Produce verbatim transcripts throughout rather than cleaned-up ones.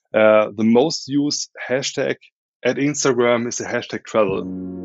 Uh, the most used hashtag at Instagram is the hashtag travel.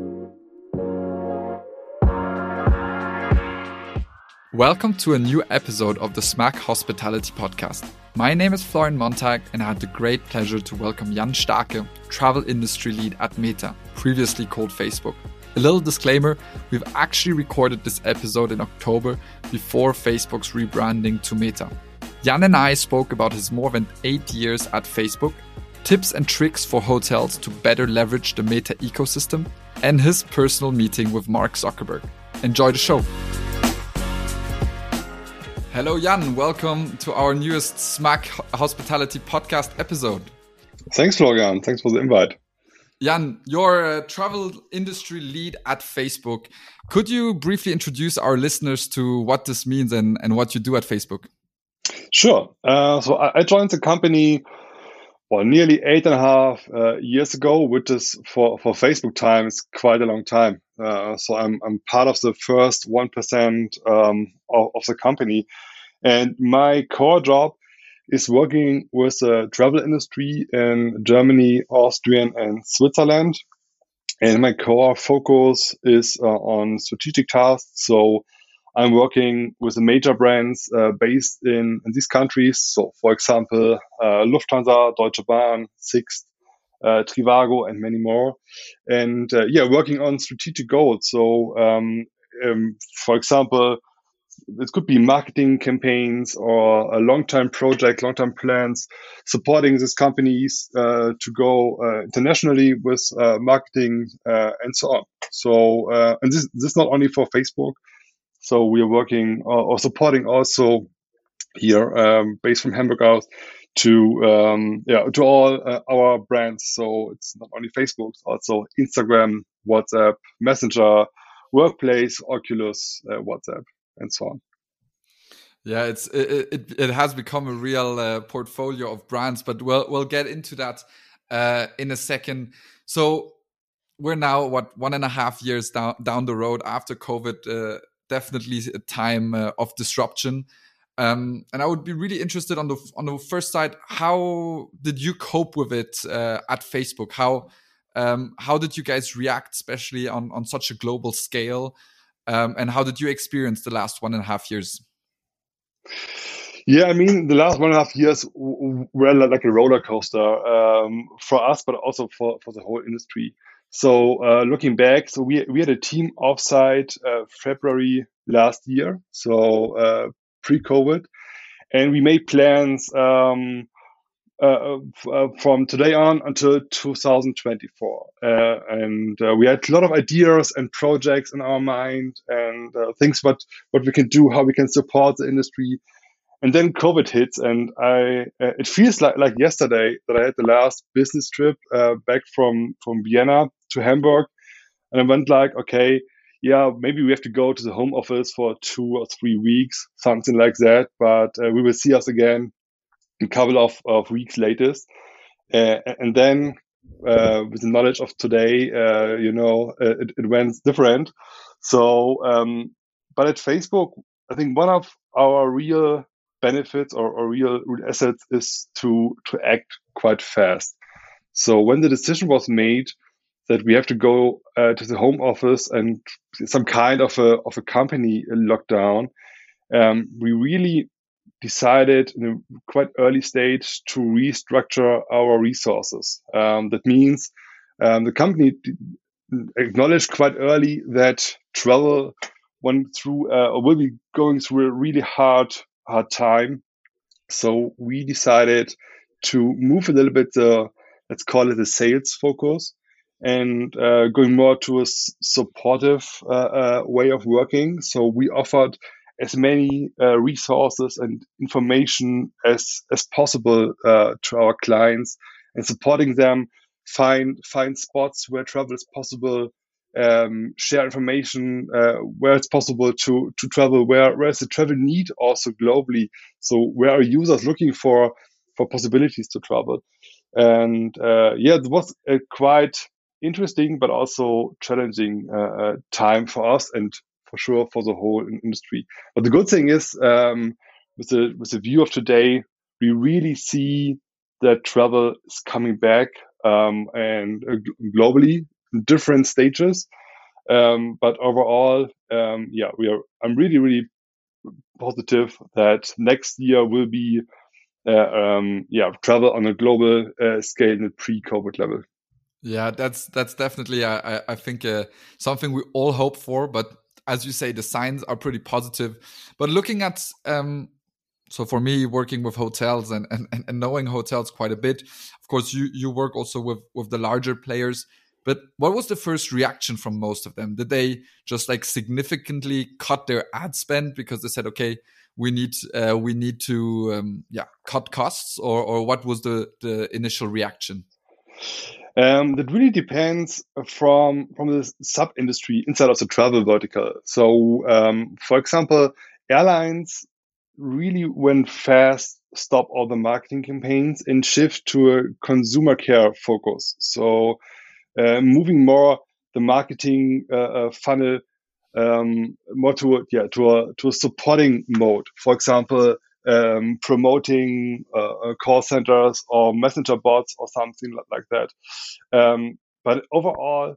Welcome to a new episode of the Smack Hospitality Podcast. My name is Florian Montag and I had the great pleasure to welcome Jan Starke, travel industry lead at Meta, previously called Facebook. A little disclaimer, we've actually recorded this episode in October before Facebook's rebranding to Meta. Jan and I spoke about his more than eight years at Facebook, tips and tricks for hotels to better leverage the Meta ecosystem, and his personal meeting with Mark Zuckerberg. Enjoy the show. Hello, Jan. Welcome to our newest Smack Hospitality Podcast episode. Thanks, Florian. Thanks for the invite. Jan, you're a travel industry lead at Facebook. Could you briefly introduce our listeners to what this means and, and what you do at Facebook? Sure. Uh, so I, I joined the company well, nearly eight and a half uh, years ago, which is for, for Facebook time is quite a long time. Uh, so I'm I'm part of the first one percent um, of, of the company, and my core job is working with the travel industry in Germany, Austria, and Switzerland. And my core focus is uh, on strategic tasks. So I'm working with the major brands uh, based in, in these countries. So, for example, uh, Lufthansa, Deutsche Bahn, Sixt, uh, Trivago, and many more. And uh, yeah, working on strategic goals. So, um, um, for example, it could be marketing campaigns or a long-term project, long-term plans, supporting these companies uh, to go uh, internationally with uh, marketing uh, and so on. So, uh, and this this is not only for Facebook. So we are working uh, or supporting also here, um, based from Hamburg out, to um, yeah to all uh, our brands. So it's not only Facebook, it's also Instagram, WhatsApp, Messenger, Workplace, Oculus, uh, WhatsApp, and so on. Yeah, it's it it, it has become a real uh, portfolio of brands, but we'll we'll get into that uh, in a second. So we're now what one and a half years down down the road after COVID. Uh, definitely a time uh, of disruption. Um, and I would be really interested on the on the first side. How did you cope with it uh, at Facebook? How um, how did you guys react, especially on on such a global scale? Um, and how did you experience the last one and a half years? Yeah, I mean, the last one and a half years were like a roller coaster um, for us, but also for, for the whole industry. So uh, looking back, so we we had a team offsite uh, February last year, so uh, pre-COVID, and we made plans um, uh, uh, from today on until two thousand twenty-four, uh, and uh, we had a lot of ideas and projects in our mind and uh, things what what we can do, how we can support the industry. And then COVID hits, and I uh, it feels like, like yesterday that I had the last business trip uh, back from, from Vienna to Hamburg. And I went like, okay, yeah, maybe we have to go to the home office for two or three weeks, something like that. But uh, we will see us again in a couple of, of weeks latest. Uh, and then uh, with the knowledge of today, uh, you know, it, it went different. So, um, but at Facebook, I think one of our real benefits or, or real, real assets is to to act quite fast. So when the decision was made that we have to go uh, to the home office and some kind of a of a company lockdown, um, we really decided in a quite early stage to restructure our resources. Um, that means um, the company acknowledged quite early that travel went through uh, or will be going through a really hard hard time. So we decided to move a little bit the, let's call it the sales focus, and uh, going more to a s- supportive uh, uh, way of working. So we offered as many uh, resources and information as as possible uh, to our clients, and supporting them find find spots where travel is possible, um, share information uh, where it's possible to to travel, where where is the travel need also globally. So where are users looking for for possibilities to travel? And uh, yeah, it was a quite interesting but also challenging uh, uh, time for us and for sure for the whole in- industry. But the good thing is, um, with the with the view of today, we really see that travel is coming back um, and uh, globally in different stages. Um, but overall, um, yeah, we are. I'm really, really positive that next year will be, uh, um, yeah, travel on a global uh, scale in a pre-COVID level. Yeah, that's that's definitely I I think uh, something we all hope for. But as you say, the signs are pretty positive. But looking at um, so for me, working with hotels and, and and knowing hotels quite a bit, of course, you you work also with with the larger players. But what was the first reaction from most of them? Did they just like significantly cut their ad spend because they said, okay, we need uh, we need to um, yeah cut costs, or or what was the the initial reaction? Um, that really depends from from the sub industry inside of the travel vertical. So, um, for example, airlines really went fast, stop all the marketing campaigns and shift to a consumer care focus. So, uh, moving more the marketing uh, uh, funnel um, more to a, yeah to a to a supporting mode. For example, um, promoting uh, uh, call centers or messenger bots or something like that. Um, but overall,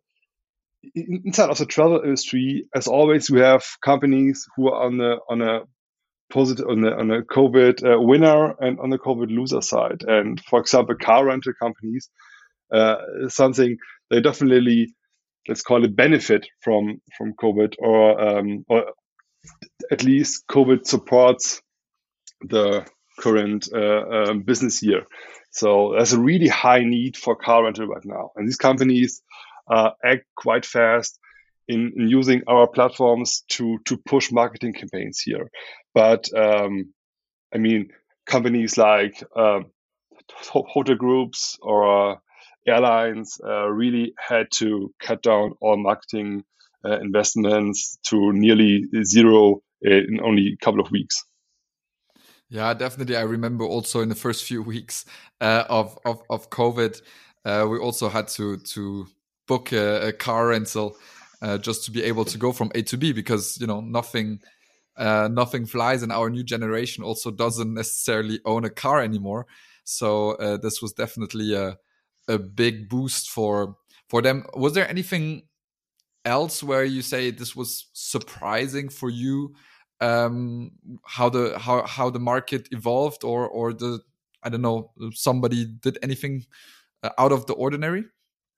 inside of the travel industry, as always, we have companies who are on the on a positive on the on a COVID uh, winner and on the COVID loser side. And for example, car rental companies, uh, something they definitely, let's call it, benefit from from COVID, or um, or at least COVID supports the current uh, um, business year. So there's a really high need for car rental right now, and these companies uh, act quite fast in, in using our platforms to to push marketing campaigns here. But um, I mean, companies like uh, hotel groups or uh, airlines uh, really had to cut down all marketing uh, investments to nearly zero in only a couple of weeks. Yeah, definitely. I remember also in the first few weeks uh, of, of of COVID, uh, we also had to to book a, a car rental uh, just to be able to go from A to B, because you know nothing uh, nothing flies, and our new generation also doesn't necessarily own a car anymore. So uh, this was definitely a a big boost for for them. Was there anything else where you say this was surprising for you, um how the how how the market evolved, or or the I don't know, somebody did anything uh, out of the ordinary?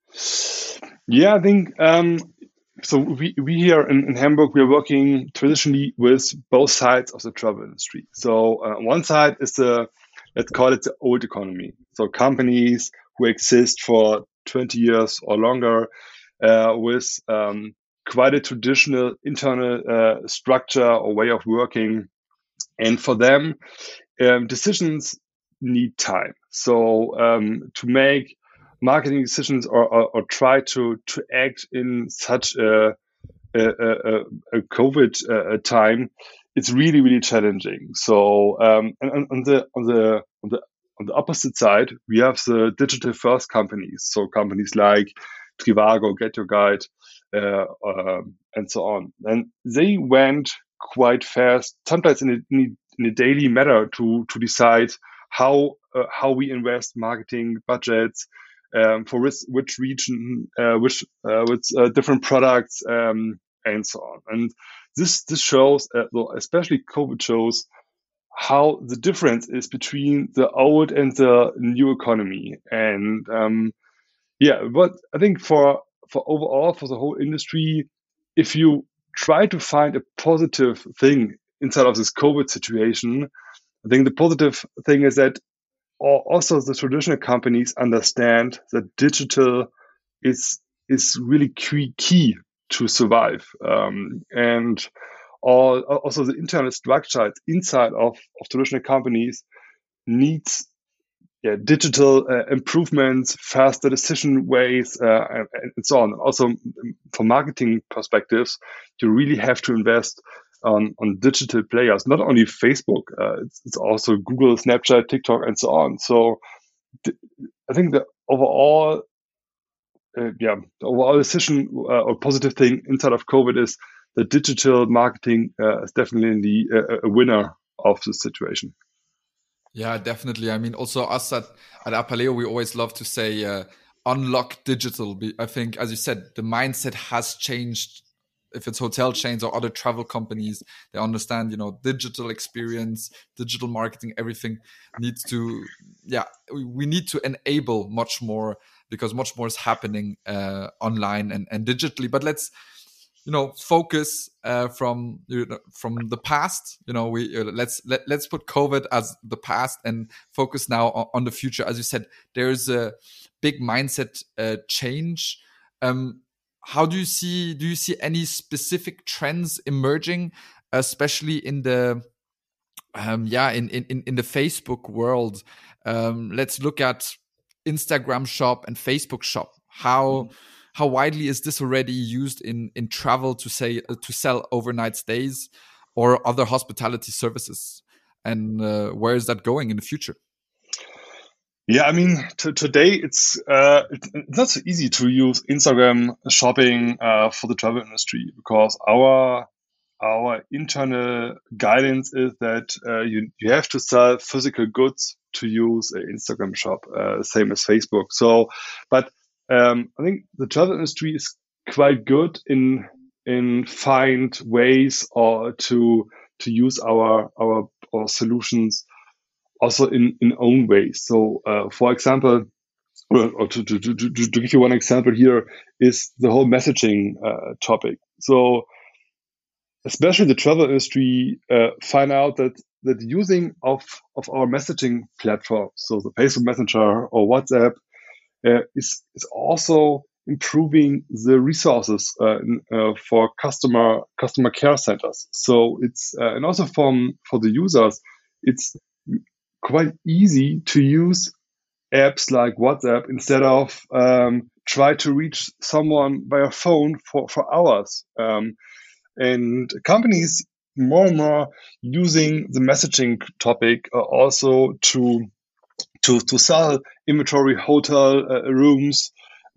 Yeah, I think um, so. We, we here in, in Hamburg, we are working traditionally with both sides of the travel industry. So uh, one side is the, let's call it the old economy. So companies who exist for twenty years or longer uh, with um, quite a traditional internal uh, structure or way of working. And for them, um, decisions need time. So um, to make marketing decisions, or, or, or try to, to act in such a, a, a, a COVID uh, time, it's really, really challenging. So um, and on the on the on the on the opposite side, we have the digital first companies. So companies like Trivago, Get Your Guide, uh, uh, and so on. And they went quite fast, sometimes in a, in a, in a daily matter, to to decide how uh, how we invest marketing budgets um, for which, which region, uh, which uh, with uh, different products, um, and so on. And this this shows, uh, well, especially COVID shows how the difference is between the old and the new economy. And um, yeah, but I think for for overall, for the whole industry, if you try to find a positive thing inside of this COVID situation, I think the positive thing is that also the traditional companies understand that digital is is really key, key to survive, um, and all also the internal structure inside of, of traditional companies needs, yeah, digital uh, improvements, faster decision ways, uh, and, and so on. Also, from marketing perspectives, you really have to invest on, on digital players, not only Facebook, uh, it's, it's also Google, Snapchat, TikTok, and so on. So th- I think the overall, uh, yeah, the overall decision uh, or positive thing inside of COVID is that digital marketing uh, is definitely a, a winner of the situation. Yeah, definitely. I mean, also us at, at Apaleo, we always love to say uh, unlock digital. I think, as you said, the mindset has changed. If it's hotel chains or other travel companies, they understand, you know, digital experience, digital marketing, everything needs to, yeah, we, we need to enable much more because much more is happening uh, online and, and digitally. But let's, you know, focus uh, from you know, from the past. You know, we uh, let's let, let's put COVID as the past and focus now on, on the future. As you said, there's a big mindset uh, change. Um, how do you see? Do you see any specific trends emerging, especially in the um, yeah in, in in the Facebook world? Um, let's look at Instagram Shop and Facebook Shop. How how widely is this already used in in travel to say uh, to sell overnight stays or other hospitality services? And uh, where is that going in the future? Yeah, I mean, t- today it's uh, it's it's not so easy to use Instagram shopping uh, for the travel industry because our our internal guidance is that uh, you you have to sell physical goods to use an Instagram shop, uh, same as Facebook. So, but um, I think the travel industry is quite good in in find ways or to to use our our our solutions also in in own ways. So, uh, for example, or, or to, to, to, to, to give you one example here is the whole messaging uh, topic. So, especially the travel industry uh, find out that that using of of our messaging platform, so the Facebook Messenger or WhatsApp, uh, is is also improving the resources uh, in, uh, for customer customer care centers. So it's uh, and also from for the users, it's quite easy to use apps like WhatsApp instead of um, try to reach someone via phone for for hours. Um, and companies more and more using the messaging topic uh, also to to to sell inventory, hotel uh, rooms,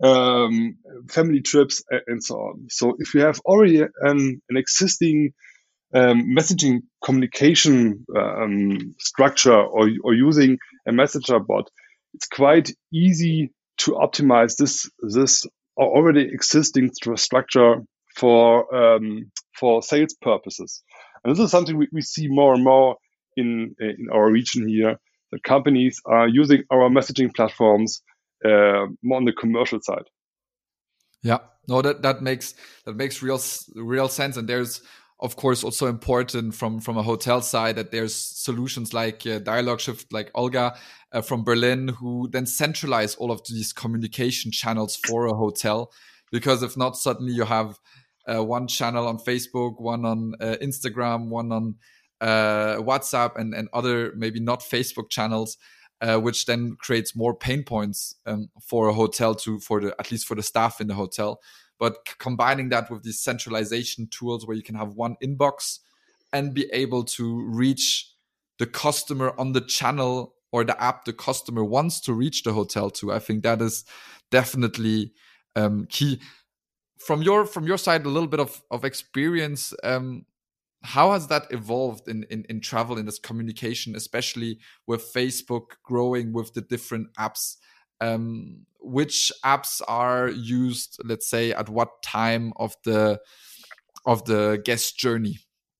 um, family trips, and so on. So if you have already an, an existing um, messaging communication um, structure or, or using a messenger bot, it's quite easy to optimize this this already existing stru- structure for um, for sales purposes. And this is something we, we see more and more in in our region here. That companies are using our messaging platforms uh, more on the commercial side. Yeah, no, that that makes that makes real real sense. And there's of course also important from from a hotel side that there's solutions like uh, Dialog Shift, like Olga uh, from Berlin, who then centralize all of these communication channels for a hotel. Because if not, suddenly you have uh, one channel on Facebook, one on uh, Instagram, one on uh, WhatsApp, and and other maybe not Facebook channels, uh, which then creates more pain points um, for a hotel to for the at least for the staff in the hotel. But c- combining that with these centralization tools where you can have one inbox and be able to reach the customer on the channel or the app the customer wants to reach the hotel to, I think that is definitely um, key. From your from your side, a little bit of of experience. Um, how has that evolved in, in, in travel in this communication, especially with Facebook growing with the different apps? Um, which apps are used, let's say, at what time of the of the guest journey?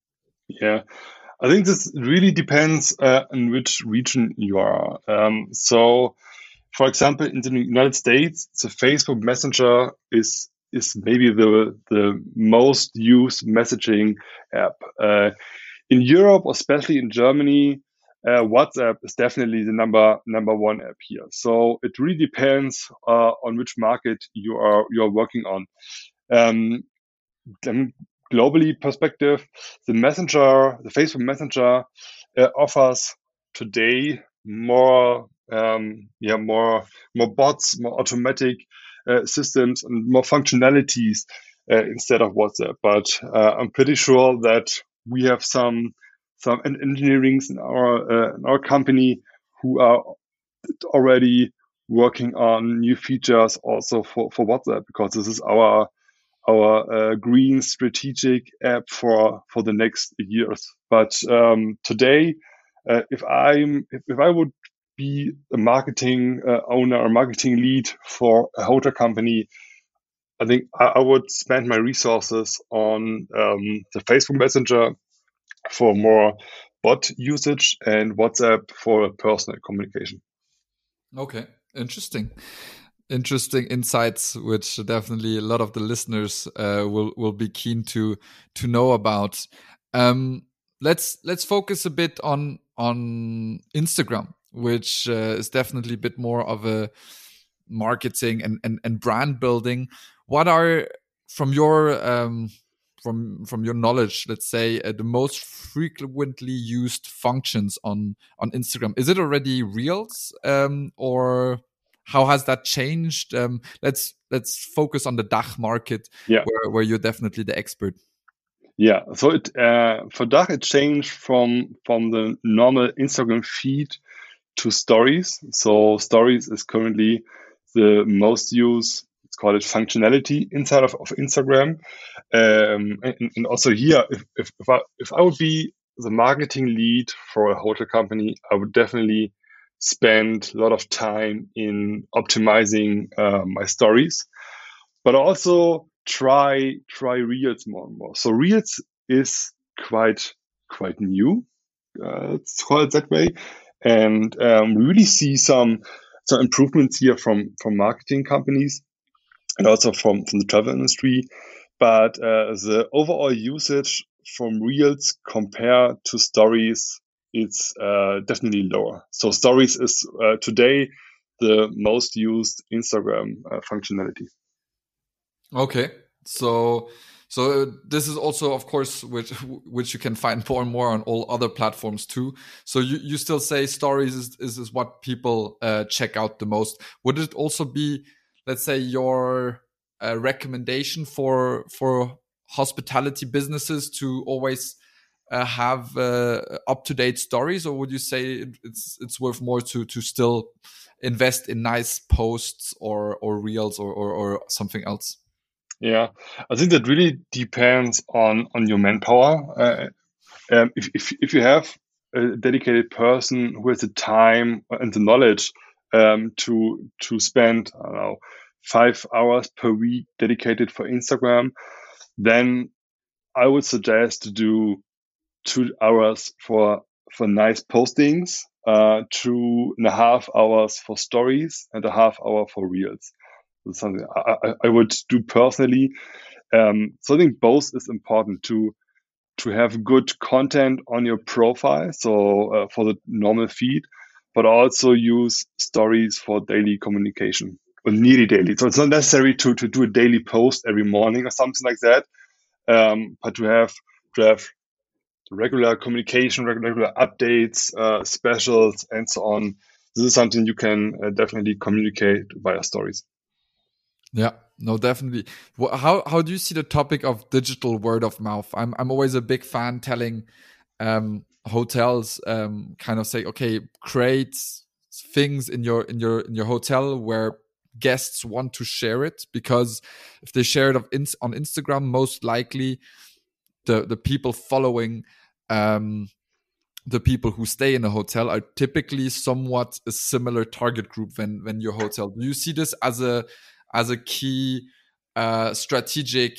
Yeah, I think this really depends uh, in which region you are. Um, so, for example, in the United States, the Facebook Messenger is is maybe the the most used messaging app. Uh, in Europe, especially in Germany, uh, WhatsApp is definitely the number number one app here. So it really depends uh, on which market you are you are working on. Um, then globally perspective, the messenger, the Facebook Messenger, uh, offers today more, um, yeah, more more bots, more automatic uh, systems, and more functionalities uh, instead of WhatsApp. But uh, I'm pretty sure that we have some some engineerings in our uh, in our company who are already working on new features also for, for WhatsApp, because this is our our uh, green strategic app for for the next years. But um, today, Uh, if I'm if, if I would be a marketing uh, owner or marketing lead for a hotel company, I think I, I would spend my resources on um, the Facebook Messenger for more bot usage and WhatsApp for personal communication. Okay, interesting. Interesting insights, which definitely a lot of the listeners uh, will will be keen to to know about. Um, let's let's focus a bit on on Instagram, which uh, is definitely a bit more of a marketing and and, and brand building. What are from your um, from from your knowledge, let's say, uh, the most frequently used functions on on Instagram? Is it already Reels, um, or how has that changed? Um, let's let's focus on the D A C H market, yeah. where where you're definitely the expert. Yeah, so it uh, for D A C H it changed from from the normal Instagram feed to stories. So stories is currently the most used, let's call it functionality inside of, of Instagram. Um, and, and also here, if, if, if, I, if I would be the marketing lead for a hotel company, I would definitely spend a lot of time in optimizing uh, my stories, but also try try Reels more and more. So Reels is quite quite new, uh, let's call it that way, and um, we really see some some improvements here from from marketing companies and also from from the travel industry. But uh, the overall usage from Reels compared to Stories, it's uh, definitely lower. So Stories is uh, today the most used Instagram uh, functionality. Okay, so so this is also, of course, which which you can find more and more on all other platforms too. So you, you still say stories is is, is what people uh, check out the most. Would it also be, let's say, your uh, recommendation for for hospitality businesses to always uh, have uh, up to date stories, or would you say it, it's it's worth more to to still invest in nice posts or or reels or or, or something else? Yeah, I think that really depends on on your manpower. Uh, um, if, if if you have a dedicated person who has the time and the knowledge um, to to spend, I don't know, five hours per week dedicated for Instagram, then I would suggest to do two hours for for nice postings, uh, two and a half hours for stories, and a half hour for reels. That's something I, I, I would do personally. Um, so I think both is important to to have good content on your profile, so uh, for the normal feed, but also use stories for daily communication or nearly daily. So it's not necessary to to do a daily post every morning or something like that, um, but to have to have regular communication, regular updates, uh, specials, and so on. This is something you can uh, definitely communicate via stories. Yeah, no, definitely. Wh- How how do you see the topic of digital word of mouth? I'm I'm always a big fan telling um, hotels um, kind of say, okay, create things in your in your in your hotel where guests want to share it, because if they share it of ins- on Instagram, most likely the the people following um, the people who stay in a hotel are typically somewhat a similar target group than than your hotel. Do you see this as a as a key uh, strategic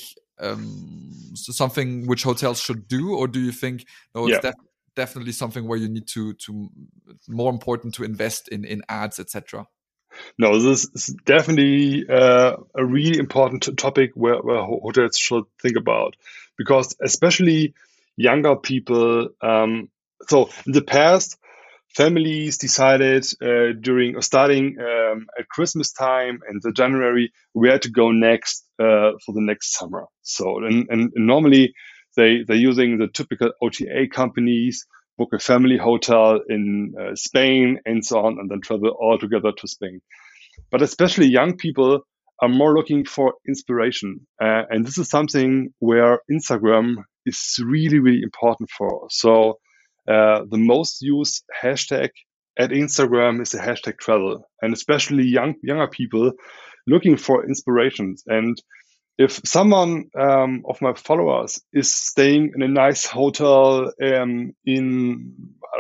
um, so something which hotels should do, or do you think no, it's Yeah. def- definitely something where you need to to more important to invest in in ads, et cetera? No, this is definitely uh, a really important t- topic where, where ho- hotels should think about, because especially younger people. Um, so in the past, families decided uh, during or starting um, at Christmas time and the January where to go next uh, for the next summer. So and, and normally they they're using the typical O T A companies, book a family hotel in uh, Spain and so on, and then travel all together to Spain. But especially young people are more looking for inspiration. Uh, and this is something where Instagram is really, really important for. So uh, the most used hashtag at Instagram is the hashtag travel, and especially young younger people looking for inspirations. And if someone um, of my followers is staying in a nice hotel um, in I don't know,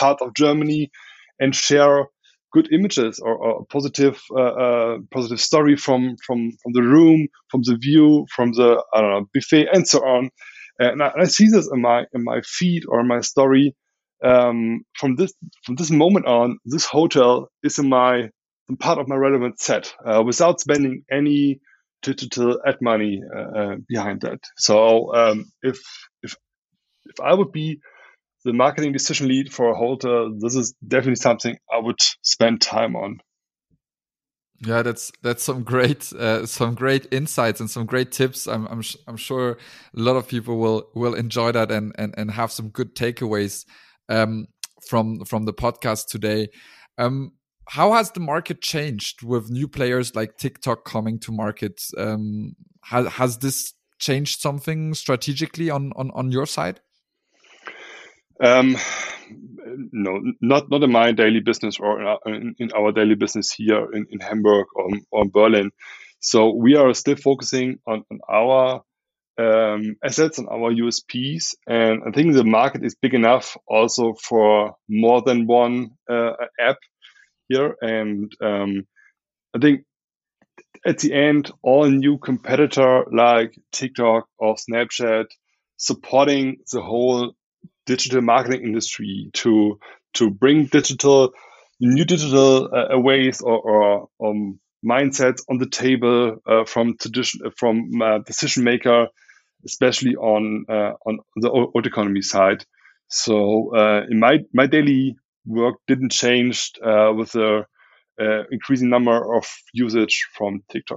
part of Germany and share good images or, or a positive uh, uh, positive story from from from the room, from the view, from the I don't know buffet, and so on. And I, I see this in my in my feed or my story. Um, from this from this moment on, this hotel is in my part of my relevant set uh, without spending any digital ad money uh, uh, behind that. So um, if if if I would be the marketing decision lead for a hotel, this is definitely something I would spend time on. Yeah, that's that's some great uh, some great insights and some great tips. I'm I'm I'm sure a lot of people will will enjoy that and and and have some good takeaways um, from from the podcast today. Um, how has the market changed with new players like TikTok coming to market? Um, has has this changed something strategically on on on your side? Um, no, not not in my daily business or in our, in, in our daily business here in, in Hamburg or, or Berlin. So we are still focusing on, on our um, assets and our U S Ps, and I think the market is big enough also for more than one uh, app here. And um, I think at the end, all new competitor like TikTok or Snapchat supporting the whole digital marketing industry to to bring digital new digital uh, ways or, or um, mindsets on the table uh, from tradition from uh, decision maker, especially on uh, on the old economy side. So uh, in my my daily work didn't change uh, with the uh, increasing number of usage from TikTok.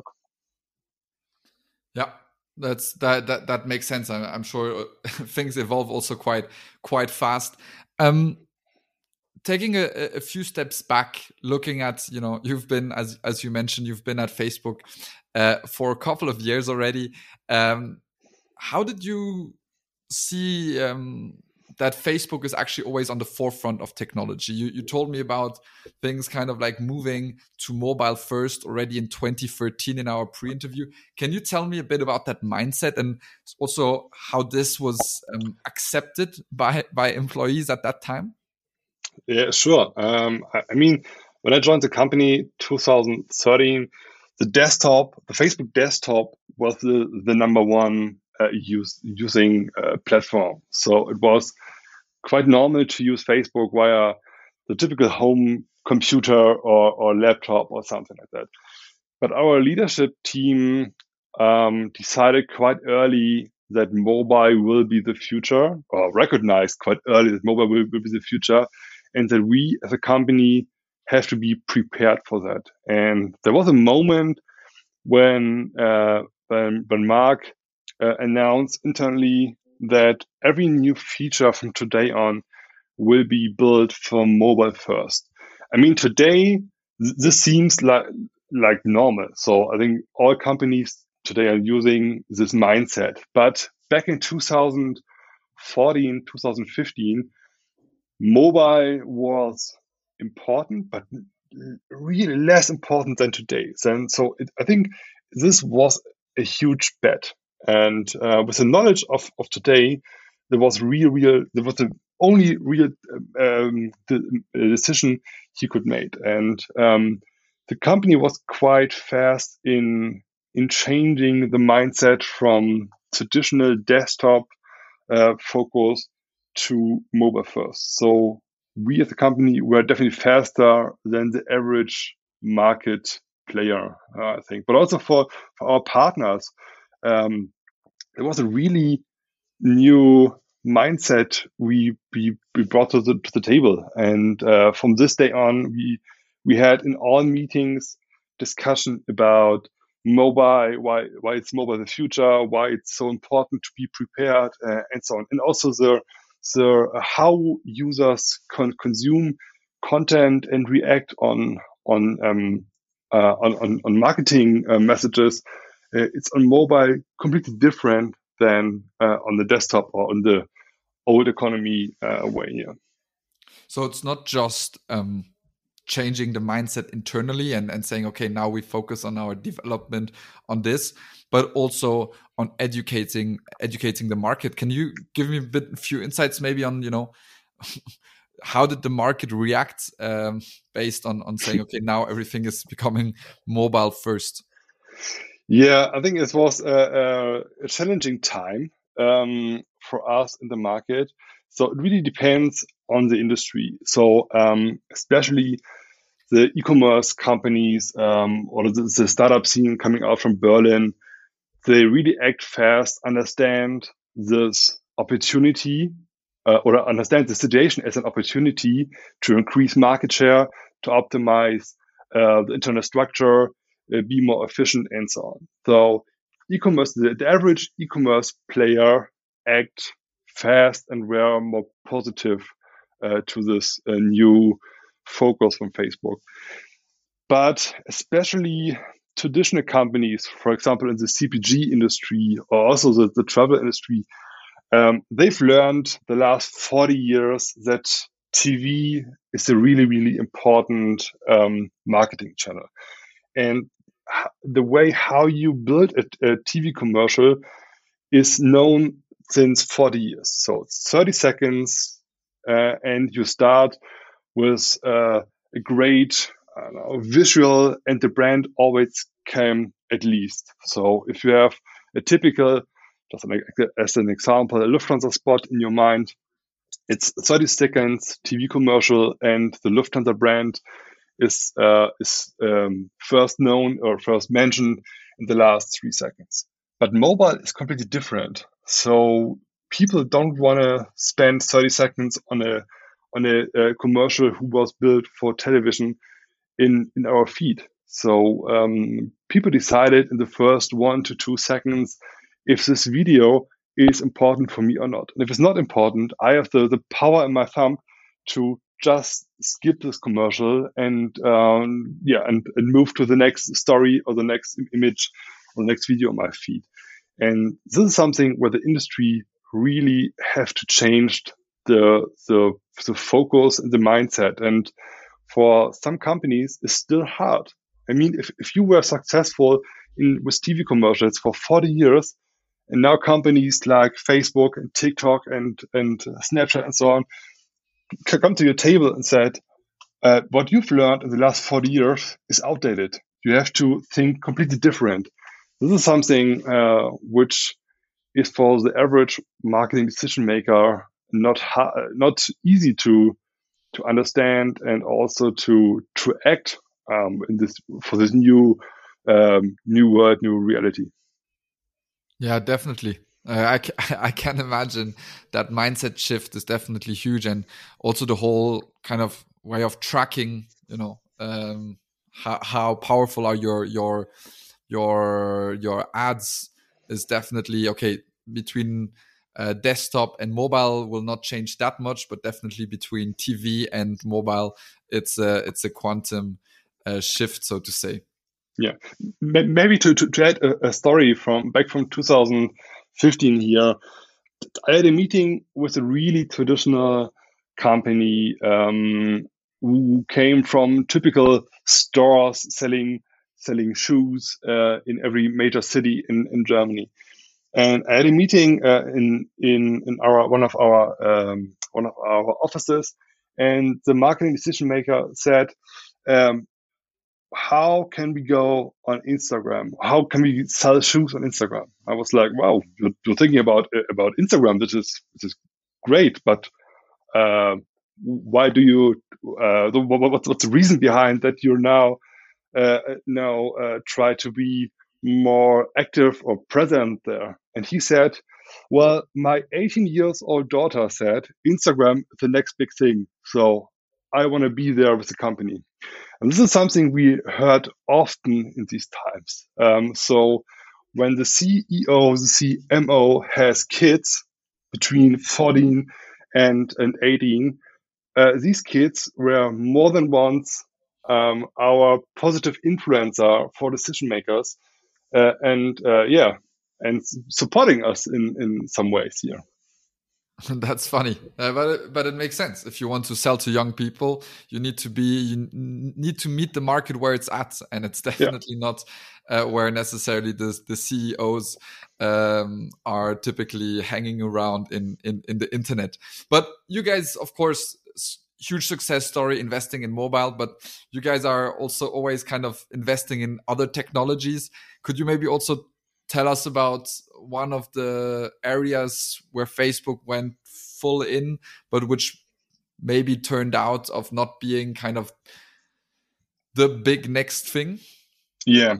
Yeah, that's that that that makes sense. I'm, I'm sure things evolve also quite quite fast. Um, taking a, a few steps back, looking at, you know, you've been, as as you mentioned, you've been at Facebook uh, for a couple of years already. Um, how did you see um, that Facebook is actually always on the forefront of technology? You, you told me about things kind of like moving to mobile first already in twenty thirteen in our pre-interview. Can you tell me a bit about that mindset and also how this was um, accepted by by employees at that time? Yeah, sure. Um, I, I mean, when I joined the company two thousand thirteen, the desktop, the Facebook desktop was the, the number one uh, use, using uh, platform. So it was quite normal to use Facebook via the typical home computer or, or laptop or something like that. But our leadership team um, decided quite early that mobile will be the future, or recognized quite early that mobile will, will be the future, and that we as a company have to be prepared for that. And there was a moment when uh, when, when Mark uh, announced internally that every new feature from today on will be built for mobile first. I mean, today th- this seems like like normal. So I think all companies today are using this mindset. But back in two thousand fourteen, two thousand fifteen, mobile was important, but really less important than today. And so it, I think this was a huge bet. And uh, with the knowledge of, of today, there was real, real, there was the only real um, the, uh, decision he could make. And um, the company was quite fast in in changing the mindset from traditional desktop uh, focus to mobile first. So we as a company were definitely faster than the average market player, uh, I think. But also for, for our partners, um, it was a really new mindset we we, we brought to the, to the table. And uh, from this day on, we we had in all meetings discussion about mobile, why why it's mobile the future, why it's so important to be prepared, uh, and so on. And also the the uh, how users con- consume content and react on on um, uh, on, on on marketing uh, messages. Uh, it's on mobile completely different than uh, on the desktop or on the old economy uh, way. Yeah. So it's not just um, changing the mindset internally and, and saying, okay, now we focus on our development on this, but also on educating educating the market. Can you give me a bit, a few insights maybe on, you know, how did the market react um, based on on saying, okay, now everything is becoming mobile first? Yeah, I think it was a, a, a challenging time um, for us in the market. So it really depends on the industry. So um, especially the e-commerce companies um, or the, the startup scene coming out from Berlin, they really act fast, understand this opportunity uh, or understand the situation as an opportunity to increase market share, to optimize uh, the internal structure, uh, be more efficient, and so on. So e-commerce, the, the average e-commerce player act fast and were more positive uh, to this uh, new focus from Facebook. But especially traditional companies, for example, in the C P G industry or also the, the travel industry, um, they've learned the last forty years that T V is a really, really important um, marketing channel. And the way how you build a, a T V commercial is known since forty years. So it's thirty seconds, uh, and you start with uh, a great I don't know, visual, and the brand always came at least. So if you have a typical, just an, as an example, a Lufthansa spot in your mind, it's thirty seconds T V commercial, and the Lufthansa brand is uh, is um, first known or first mentioned in the last three seconds. But mobile is completely different. So people don't want to spend thirty seconds on a on a, a commercial who was built for television in in our feed. So um, people decided in the first one to two seconds if this video is important for me or not. And if it's not important, I have the, the power in my thumb to just skip this commercial and um, yeah, and, and move to the next story or the next image or the next video on my feed. And this is something where the industry really have to change the the, the focus and the mindset. And for some companies, it's still hard. I mean, if, if you were successful in with T V commercials for forty years, and now companies like Facebook and TikTok and, and Snapchat and so on can come to your table and said, uh, what you've learned in the last forty years is outdated. You have to think completely different. This is something uh, which is for the average marketing decision maker not ha- not easy to to understand and also to to act um, in this for this new um, new world, new reality. Yeah, definitely. Uh, I, I can imagine that mindset shift is definitely huge, and also the whole kind of way of tracking. You know, um, how how powerful are your your your your ads is definitely okay between uh, desktop and mobile will not change that much, but definitely between T V and mobile, it's a it's a quantum uh, shift, so to say. Yeah, maybe to, to, to add a, a story from back from two thousand fifteen here. I had a meeting with a really traditional company um, who came from typical stores selling selling shoes uh, in every major city in, in Germany. And I had a meeting uh, in in in our one of our um, one of our offices, and the marketing decision maker said, um, how can we go on Instagram? How can we sell shoes on Instagram? I was like, wow, you're, you're thinking about about Instagram. This is this is great, but uh, why do you? Uh, the, what's what's the reason behind that you're now uh, now uh, try to be more active or present there? And he said, well, my eighteen years old daughter said Instagram is the next big thing, so I want to be there with the company. And this is something we heard often in these times. Um, so when the C E O, the C M O has kids between fourteen and, and eighteen, uh, these kids were more than once um, our positive influencer for decision makers, uh, and uh, yeah, and supporting us in, in some ways here. That's funny, uh, but it, but it makes sense. If you want to sell to young people, you need to be you need to meet the market where it's at, and it's definitely yeah. not uh, where necessarily the the C E Os um, are typically hanging around in, in in the internet. But you guys, of course, huge success story investing in mobile, but you guys are also always kind of investing in other technologies. Could you maybe also tell us about one of the areas where Facebook went full in, but which maybe turned out of not being kind of the big next thing? Yeah.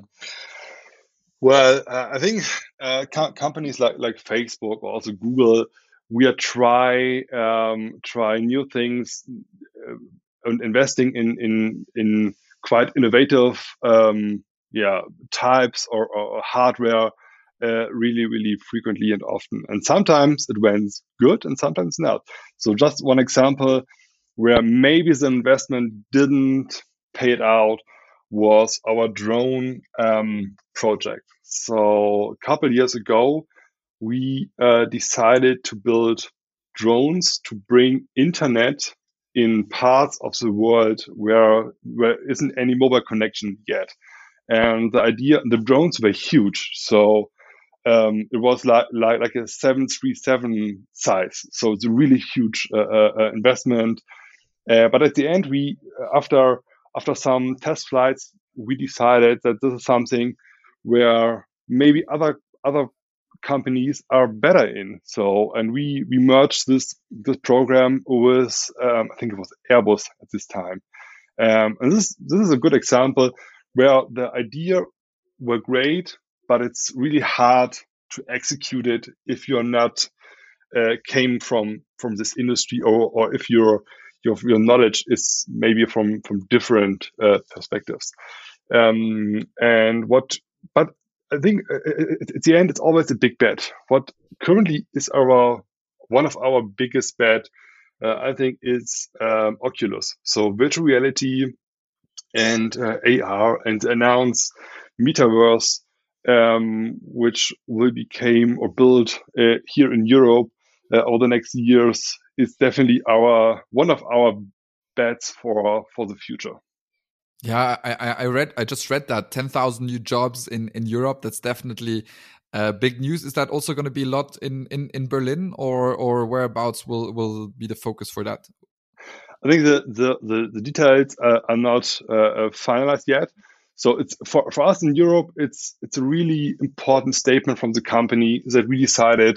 Well, uh, I think uh, co- companies like like Facebook or also Google, we are try um, try new things, uh, and investing in in in quite innovative um, yeah types or, or hardware uh, really really frequently and often. And sometimes it went good and sometimes not. So just one example where maybe the investment didn't pay it out was our drone um, project. So a couple years ago, we uh, decided to build drones to bring internet in parts of the world where where isn't any mobile connection yet. And the idea, the drones were huge. So um, it was like, like like a seven thirty-seven size. So it's a really huge uh, uh, investment. Uh, but at the end, we after after some test flights, we decided that this is something where maybe other other companies are better in. So, and we we merged this this program with um, I think it was Airbus at this time. Um, and this this is a good example where the idea were great, but it's really hard to execute it if you're not uh, came from from this industry, or or if your your your knowledge is maybe from from different uh, perspectives. Um, and what, but I think at the end it's always a big bet. What currently is our one of our biggest bet, uh, I think, is um, Oculus. So virtual reality and uh, A R, and announce Metaverse, um, which will become or build uh, here in Europe uh, over the next years, is definitely our one of our bets for for the future. Yeah, I, I read. I just read that ten thousand new jobs in, in Europe. That's definitely uh, big news. Is that also going to be a lot in, in, in Berlin, or or whereabouts will will be the focus for that? I think the the the, the details uh, are not uh, finalized yet. So it's for, for us in Europe. It's it's a really important statement from the company that we decided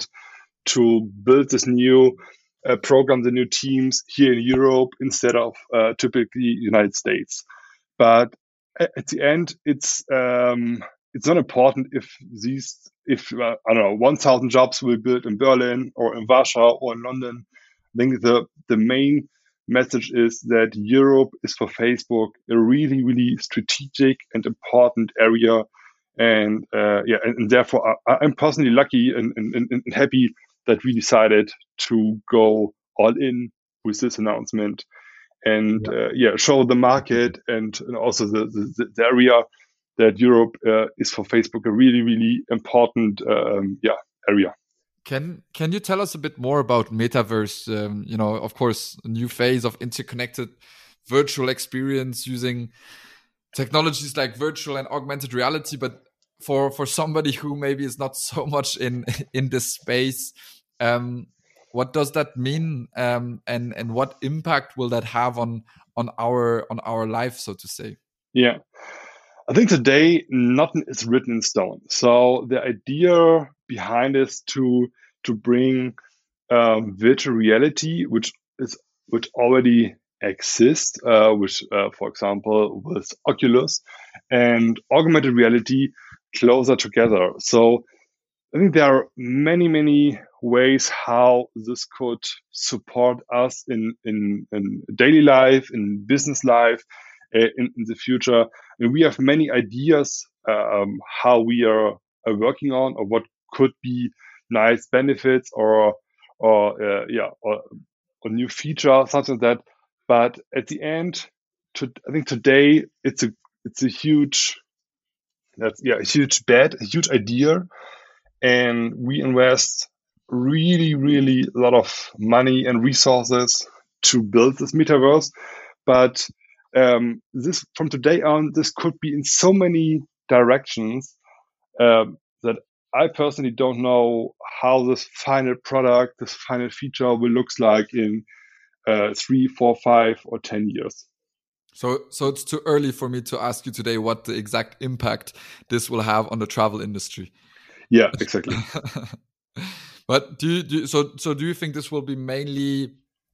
to build this new uh, program, the new teams here in Europe instead of uh, typically United States. But at the end, it's um, it's not important if these if uh, I don't know one thousand jobs will be built in Berlin or in Warsaw or in London. I think the the main message is that Europe is for Facebook a really really strategic and important area, and uh, yeah, and, and therefore I, I'm personally lucky and, and, and happy that we decided to go all in with this announcement, and yeah, uh, yeah show the market and, and also the, the, the area that Europe uh, is for Facebook a really, really important um, yeah area. Can Can you tell us a bit more about Metaverse? Um, you know, of course, a new phase of interconnected virtual experience using technologies like virtual and augmented reality. But for for somebody who maybe is not so much in in this space, um, what does that mean, um, and and what impact will that have on on our on our life, so to say? Yeah, I think today nothing is written in stone. So the idea behind is to to bring um, virtual reality, which is which already exists, uh, which uh, for example with Oculus, and augmented reality closer together. So I think there are many, many ways how this could support us in, in, in daily life, in business life, uh, in, in the future. And we have many ideas um, how we are, are working on, or what could be nice benefits, or or uh, yeah, or a new feature, something like that. But at the end, to, I think today it's a it's a huge that's yeah a huge bet, a huge idea, and we invest really, really a lot of money and resources to build this metaverse. But um, this from today on, this could be in so many directions um, that I personally don't know how this final product, this final feature will looks like in uh, three, four, five, or ten years. So, so it's too early for me to ask you today what the exact impact this will have on the travel industry. Yeah, exactly. But do you, do you, so so do you think this will be mainly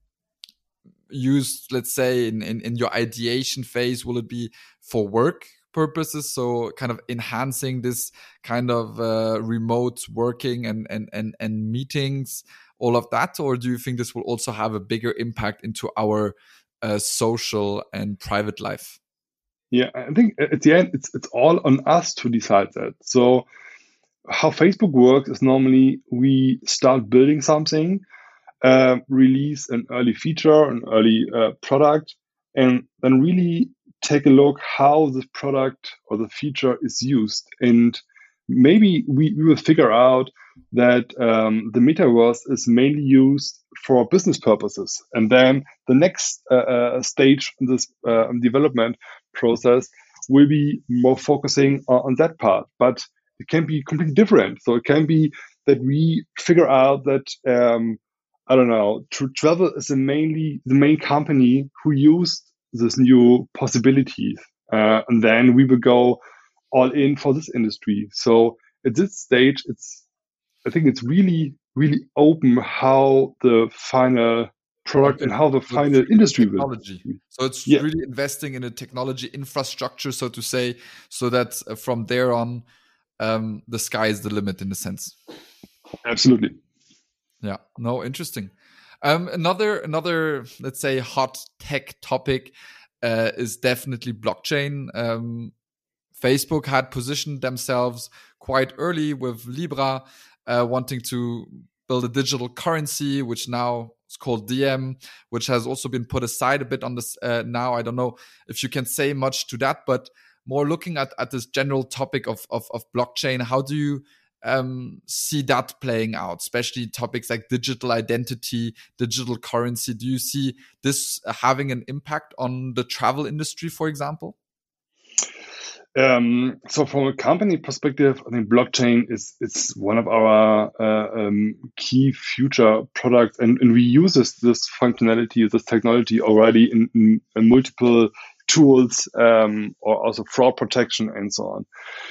used, let's say, in, in, in your ideation phase? Will it be for work purposes, so kind of enhancing this kind of uh, remote working and, and, and, and meetings, all of that? Or do you think this will also have a bigger impact into our uh, social and private life? Yeah, I think at the end, it's it's all on us to decide that. So how Facebook works is normally we start building something, uh, release an early feature, an early uh, product, and then really take a look how the product or the feature is used. And maybe we, we will figure out that um, the metaverse is mainly used for business purposes. And then the next uh, uh, stage in this uh, development process will be more focusing on, on that part. But it can be completely different. So it can be that we figure out that, um, I don't know, Tr- Travel is the mainly the main company who used this new possibilities. Uh, and then we will go all in for this industry. So at this stage, it's, I think it's really, really open how the final product Okay, and how the so it's final really industry will. technology. So it's Yeah, really investing in a technology infrastructure, so to say, so that uh, from there on, um, the sky is the limit in a sense. absolutely. Yeah, no, interesting. Um, another, another, let's say, hot tech topic uh, is definitely blockchain. Um, Facebook had positioned themselves quite early with Libra, uh, wanting to build a digital currency, which now is called Diem, which has also been put aside a bit on this uh, now. I don't know if you can say much to that, but more looking at, at this general topic of, of, of blockchain, how do you um, see that playing out, especially topics like digital identity, digital currency? Do you see this having an impact on the travel industry, for example? Um, so from a company perspective, I think blockchain is is one of our uh, um, key future products, and, and we use this, this functionality, this technology already in, in, in multiple tools, um, or also fraud protection and so on.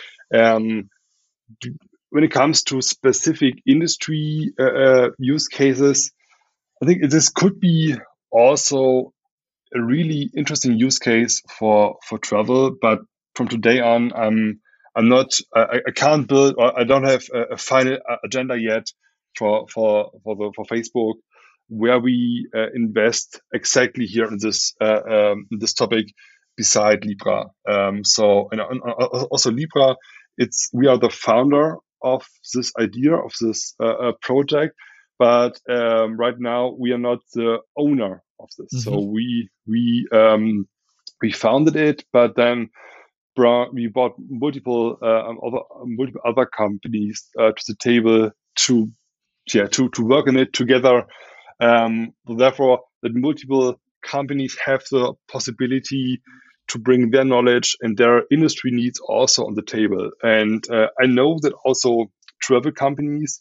Um, when it comes to specific industry uh, uh, use cases, I think this could be also a really interesting use case for for travel. But from today on, I'm I'm not I, I can't build, or I don't have a, a final agenda yet for for for the for Facebook where we uh, invest exactly here in this uh, um, this topic beside Libra. Um, so and, and also Libra, it's we are the founder of this idea of this uh, uh, project, but um, right now we are not the owner of this. Mm-hmm. So we we um, we founded it, but then brought, we brought multiple uh, other multiple other companies uh, to the table to yeah to to work on it together. Um, therefore, that multiple companies have the possibility to bring their knowledge and their industry needs also on the table. And uh, I know that also travel companies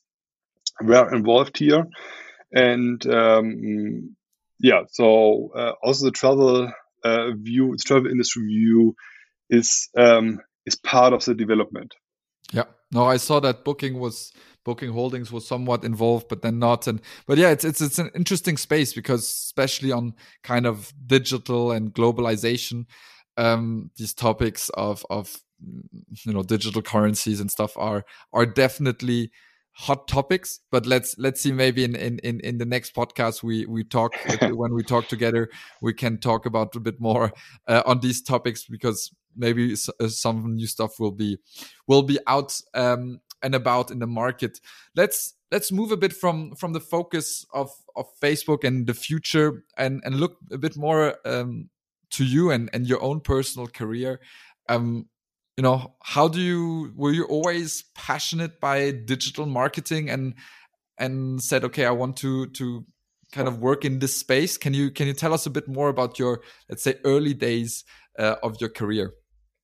were involved here. And um, yeah, so uh, also the travel uh, view, the travel industry view is um, is part of the development. Yeah, no, I saw that Booking was Booking Holdings was somewhat involved, but then not. And but yeah, it's it's it's an interesting space because especially on kind of digital and globalization, um, these topics of of you know digital currencies and stuff are are definitely hot topics. But let's let's see, maybe in in in, in the next podcast we we talk when we talk together, we can talk about a bit more uh, on these topics, because maybe some new stuff will be will be out um, and about in the market. Let's let's move a bit from from the focus of of Facebook and the future, and and look a bit more um, to you and and your own personal career. Um, you know, how do you were you always passionate by digital marketing and and said, okay, I want to to kind of work in this space? Can you can you tell us a bit more about your, let's say, early days uh, of your career?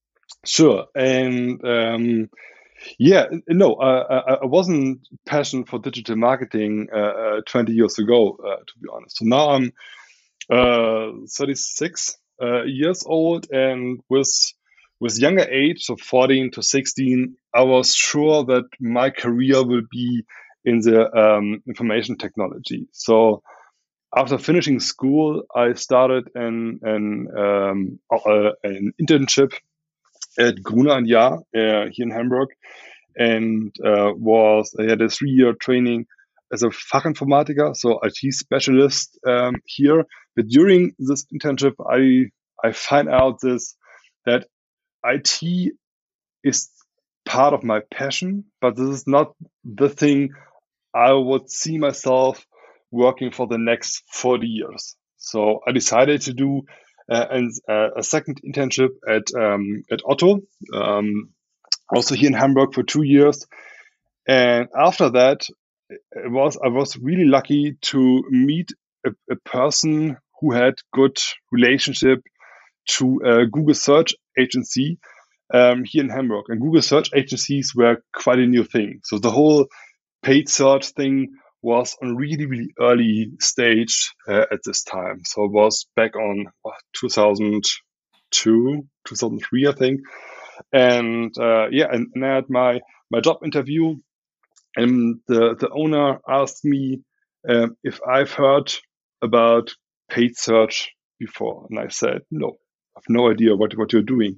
Sure. And um, yeah, no, uh, I wasn't passionate for digital marketing uh, uh, twenty years ago, uh, to be honest. So now I'm uh, thirty-six uh, years old, and with with younger age, so fourteen to sixteen, I was sure that my career will be in the um, information technology. So after finishing school, I started an an, um, uh, an internship at Gruner and Jahr uh, here in Hamburg, and uh, was I had a three year training as a Fachinformatiker, so I T specialist um, here. But during this internship, I I find out this that I T is part of my passion, but this is not the thing I would see myself working for the next forty years. So I decided to do uh, an, uh, a second internship at um, at Otto, um, also here in Hamburg for two years. And after that, it was I was really lucky to meet a, a person who had good relationship to a Google search agency um, here in Hamburg. And Google search agencies were quite a new thing. So the whole paid search thing was on really, really early stage uh, at this time. So it was back on what, two thousand two, two thousand three, I think. And uh, yeah, and, and I had my, my job interview, and the, the owner asked me um, if I've heard about paid search before. And I said, no, I have no idea what, what you're doing.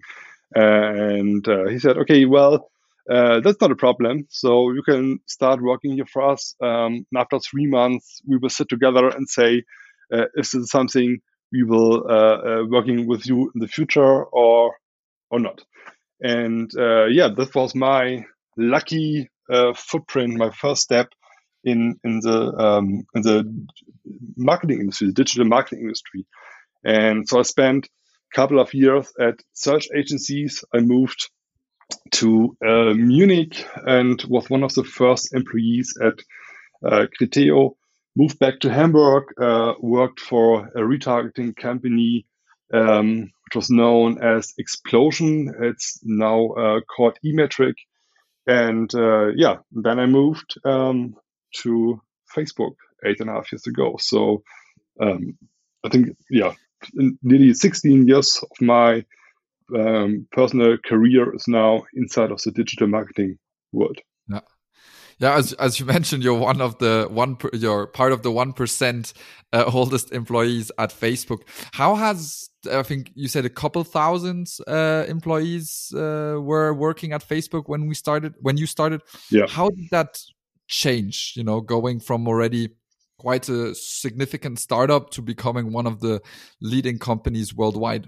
And uh, he said, okay, well, uh, that's not a problem. So you can start working here for us. Um, and after three months, we will sit together and say, uh, is this something we will uh, uh, working with you in the future or or not? And uh, yeah, that was my lucky uh, footprint, my first step in in the um, in the marketing industry, the digital marketing industry. And so I spent a couple of years at search agencies. I moved to uh, Munich and was one of the first employees at uh, Criteo. Moved back to Hamburg, uh, worked for a retargeting company, um, which was known as Explosion. It's now uh, called eMetric. And uh, yeah, then I moved um, to Facebook eight and a half years ago. So um, I think, yeah, in nearly sixteen years of my um, personal career is now inside of the digital marketing world. Yeah. Yeah, as as you mentioned, you're one of the one. Per, you're part of the one percent uh, oldest employees at Facebook. How has I think you said a couple thousand uh, employees uh, were working at Facebook when we started. When you started, yeah. How did that change? You know, going from already quite a significant startup to becoming one of the leading companies worldwide.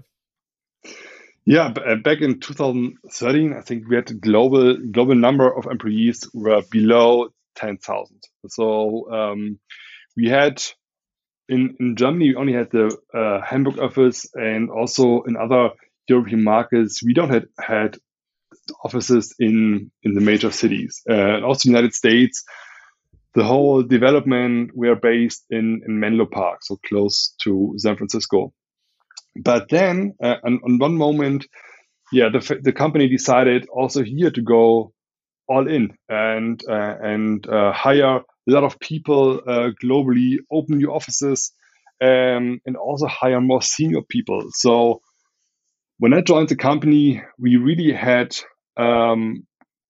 Yeah, back in two thousand thirteen, I think we had a global global number of employees were below ten thousand. So um, we had in in Germany we only had the uh, Hamburg office, and also in other European markets we don't had had offices in in the major cities. Uh, and also United States, the whole development we are based in in Menlo Park, so close to San Francisco. But then, uh, on, on one moment, yeah, the the company decided also here to go all in and uh, and uh, hire a lot of people uh, globally, open new offices, um, and also hire more senior people. So when I joined the company, we really had um,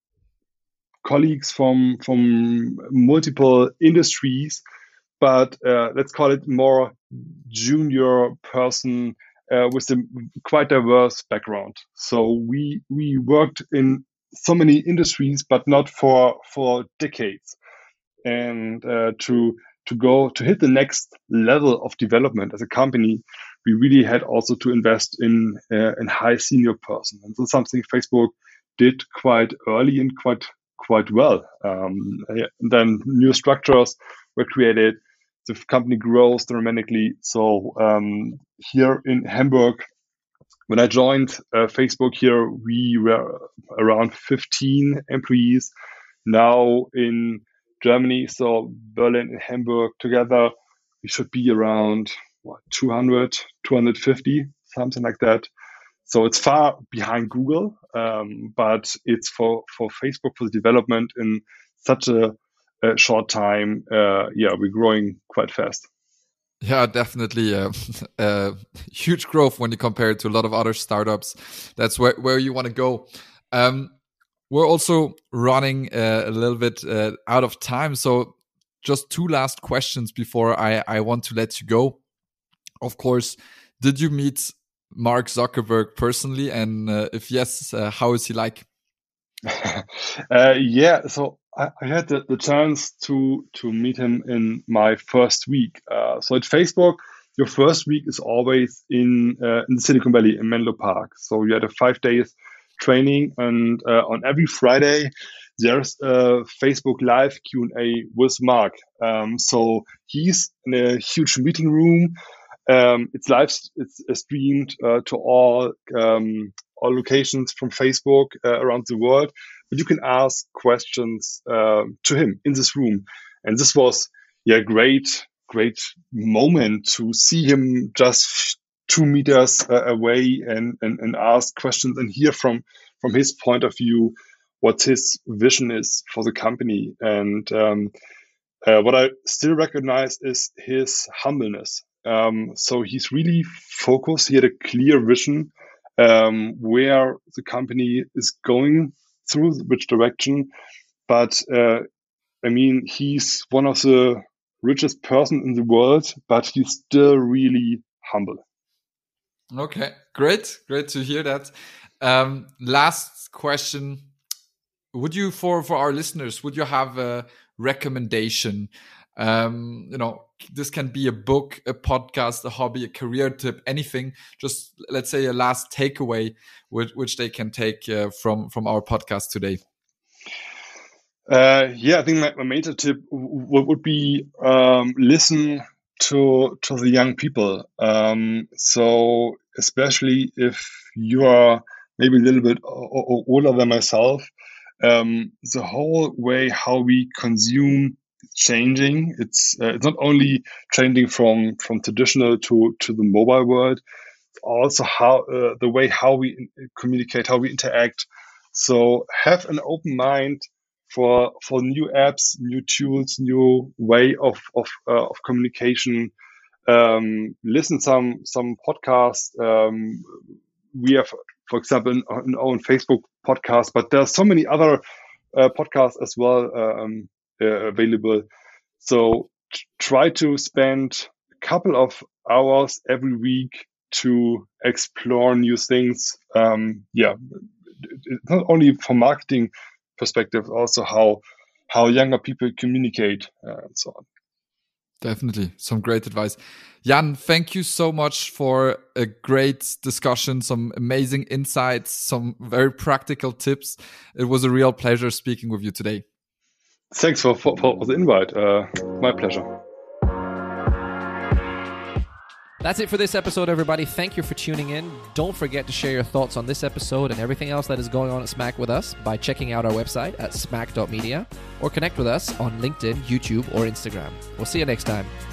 colleagues from from multiple industries, but uh, let's call it more junior person uh, with a quite diverse background. So we we worked in so many industries, but not for for decades. And uh, to to go to hit the next level of development as a company, we really had also to invest in uh, in high senior person, and so something Facebook did quite early and quite quite well. Um, then new structures were created. The company grows dramatically. So um, here in Hamburg, when I joined uh, Facebook here, we were around fifteen employees. Now in Germany, so Berlin and Hamburg together, we should be around what, two hundred, two hundred fifty, something like that. So it's far behind Google, um, but it's for, for Facebook, for the development in such a, a short time. Uh, yeah, we're growing quite fast. Yeah, definitely uh, uh, huge growth when you compare it to a lot of other startups. That's where, where you want to go. Um, we're also running uh, a little bit uh, out of time. So just two last questions before I, I want to let you go. Of course, did you meet Mark Zuckerberg personally? And uh, if yes, uh, how is he like? uh, yeah, so I, I had the, the chance to to meet him in my first week. Uh, so at Facebook, your first week is always in uh, in Silicon Valley in Menlo Park. So you had a five days training, and uh, on every Friday there's a Facebook Live Q and A with Mark. Um, so he's in a huge meeting room. Um, it's live, it's uh, streamed uh, to all um, all locations from Facebook uh, around the world. But you can ask questions uh, to him in this room, and this was yeah great great moment to see him just two meters uh, away and, and and ask questions and hear from from his point of view what his vision is for the company. And um, uh, what I still recognize is his humbleness. Um, so he's really focused. He had a clear vision um, where the company is going through, which direction. But uh, I mean, he's one of the richest person in the world, but he's still really humble. Okay, great, great to hear that. Um, last question: would you, for for our listeners, would you have a recommendation? Um, you know, this can be a book, a podcast, a hobby, a career tip, anything. Just let's say a last takeaway, which, which they can take uh, from from our podcast today. Uh, yeah, I think my, my major tip w- would be um, listen to to the young people. Um, so especially if you are maybe a little bit o- o- older than myself, um, the whole way how we consume changing. It's uh, it's not only changing from from traditional to to the mobile world, also how uh, the way how we in- communicate, how we interact. So have an open mind for for new apps, new tools, new way of of uh, of communication. Um, listen some some podcasts. Um, we have, for example, an, an own Facebook podcast, but there are so many other uh, podcasts as well um, uh, available. So t- try to spend a couple of hours every week to explore new things. Um, yeah, it's not only from marketing perspective, also how how younger people communicate uh, and so on. Definitely. Some great advice. Jan, thank you so much for a great discussion, some amazing insights, some very practical tips. It was a real pleasure speaking with you today. Thanks for, for, for the invite. Uh, my pleasure. That's it for this episode, everybody. Thank you for tuning in. Don't forget to share your thoughts on this episode and everything else that is going on at Smack with us by checking out our website at smack dot media or connect with us on LinkedIn, YouTube, or Instagram. We'll see you next time.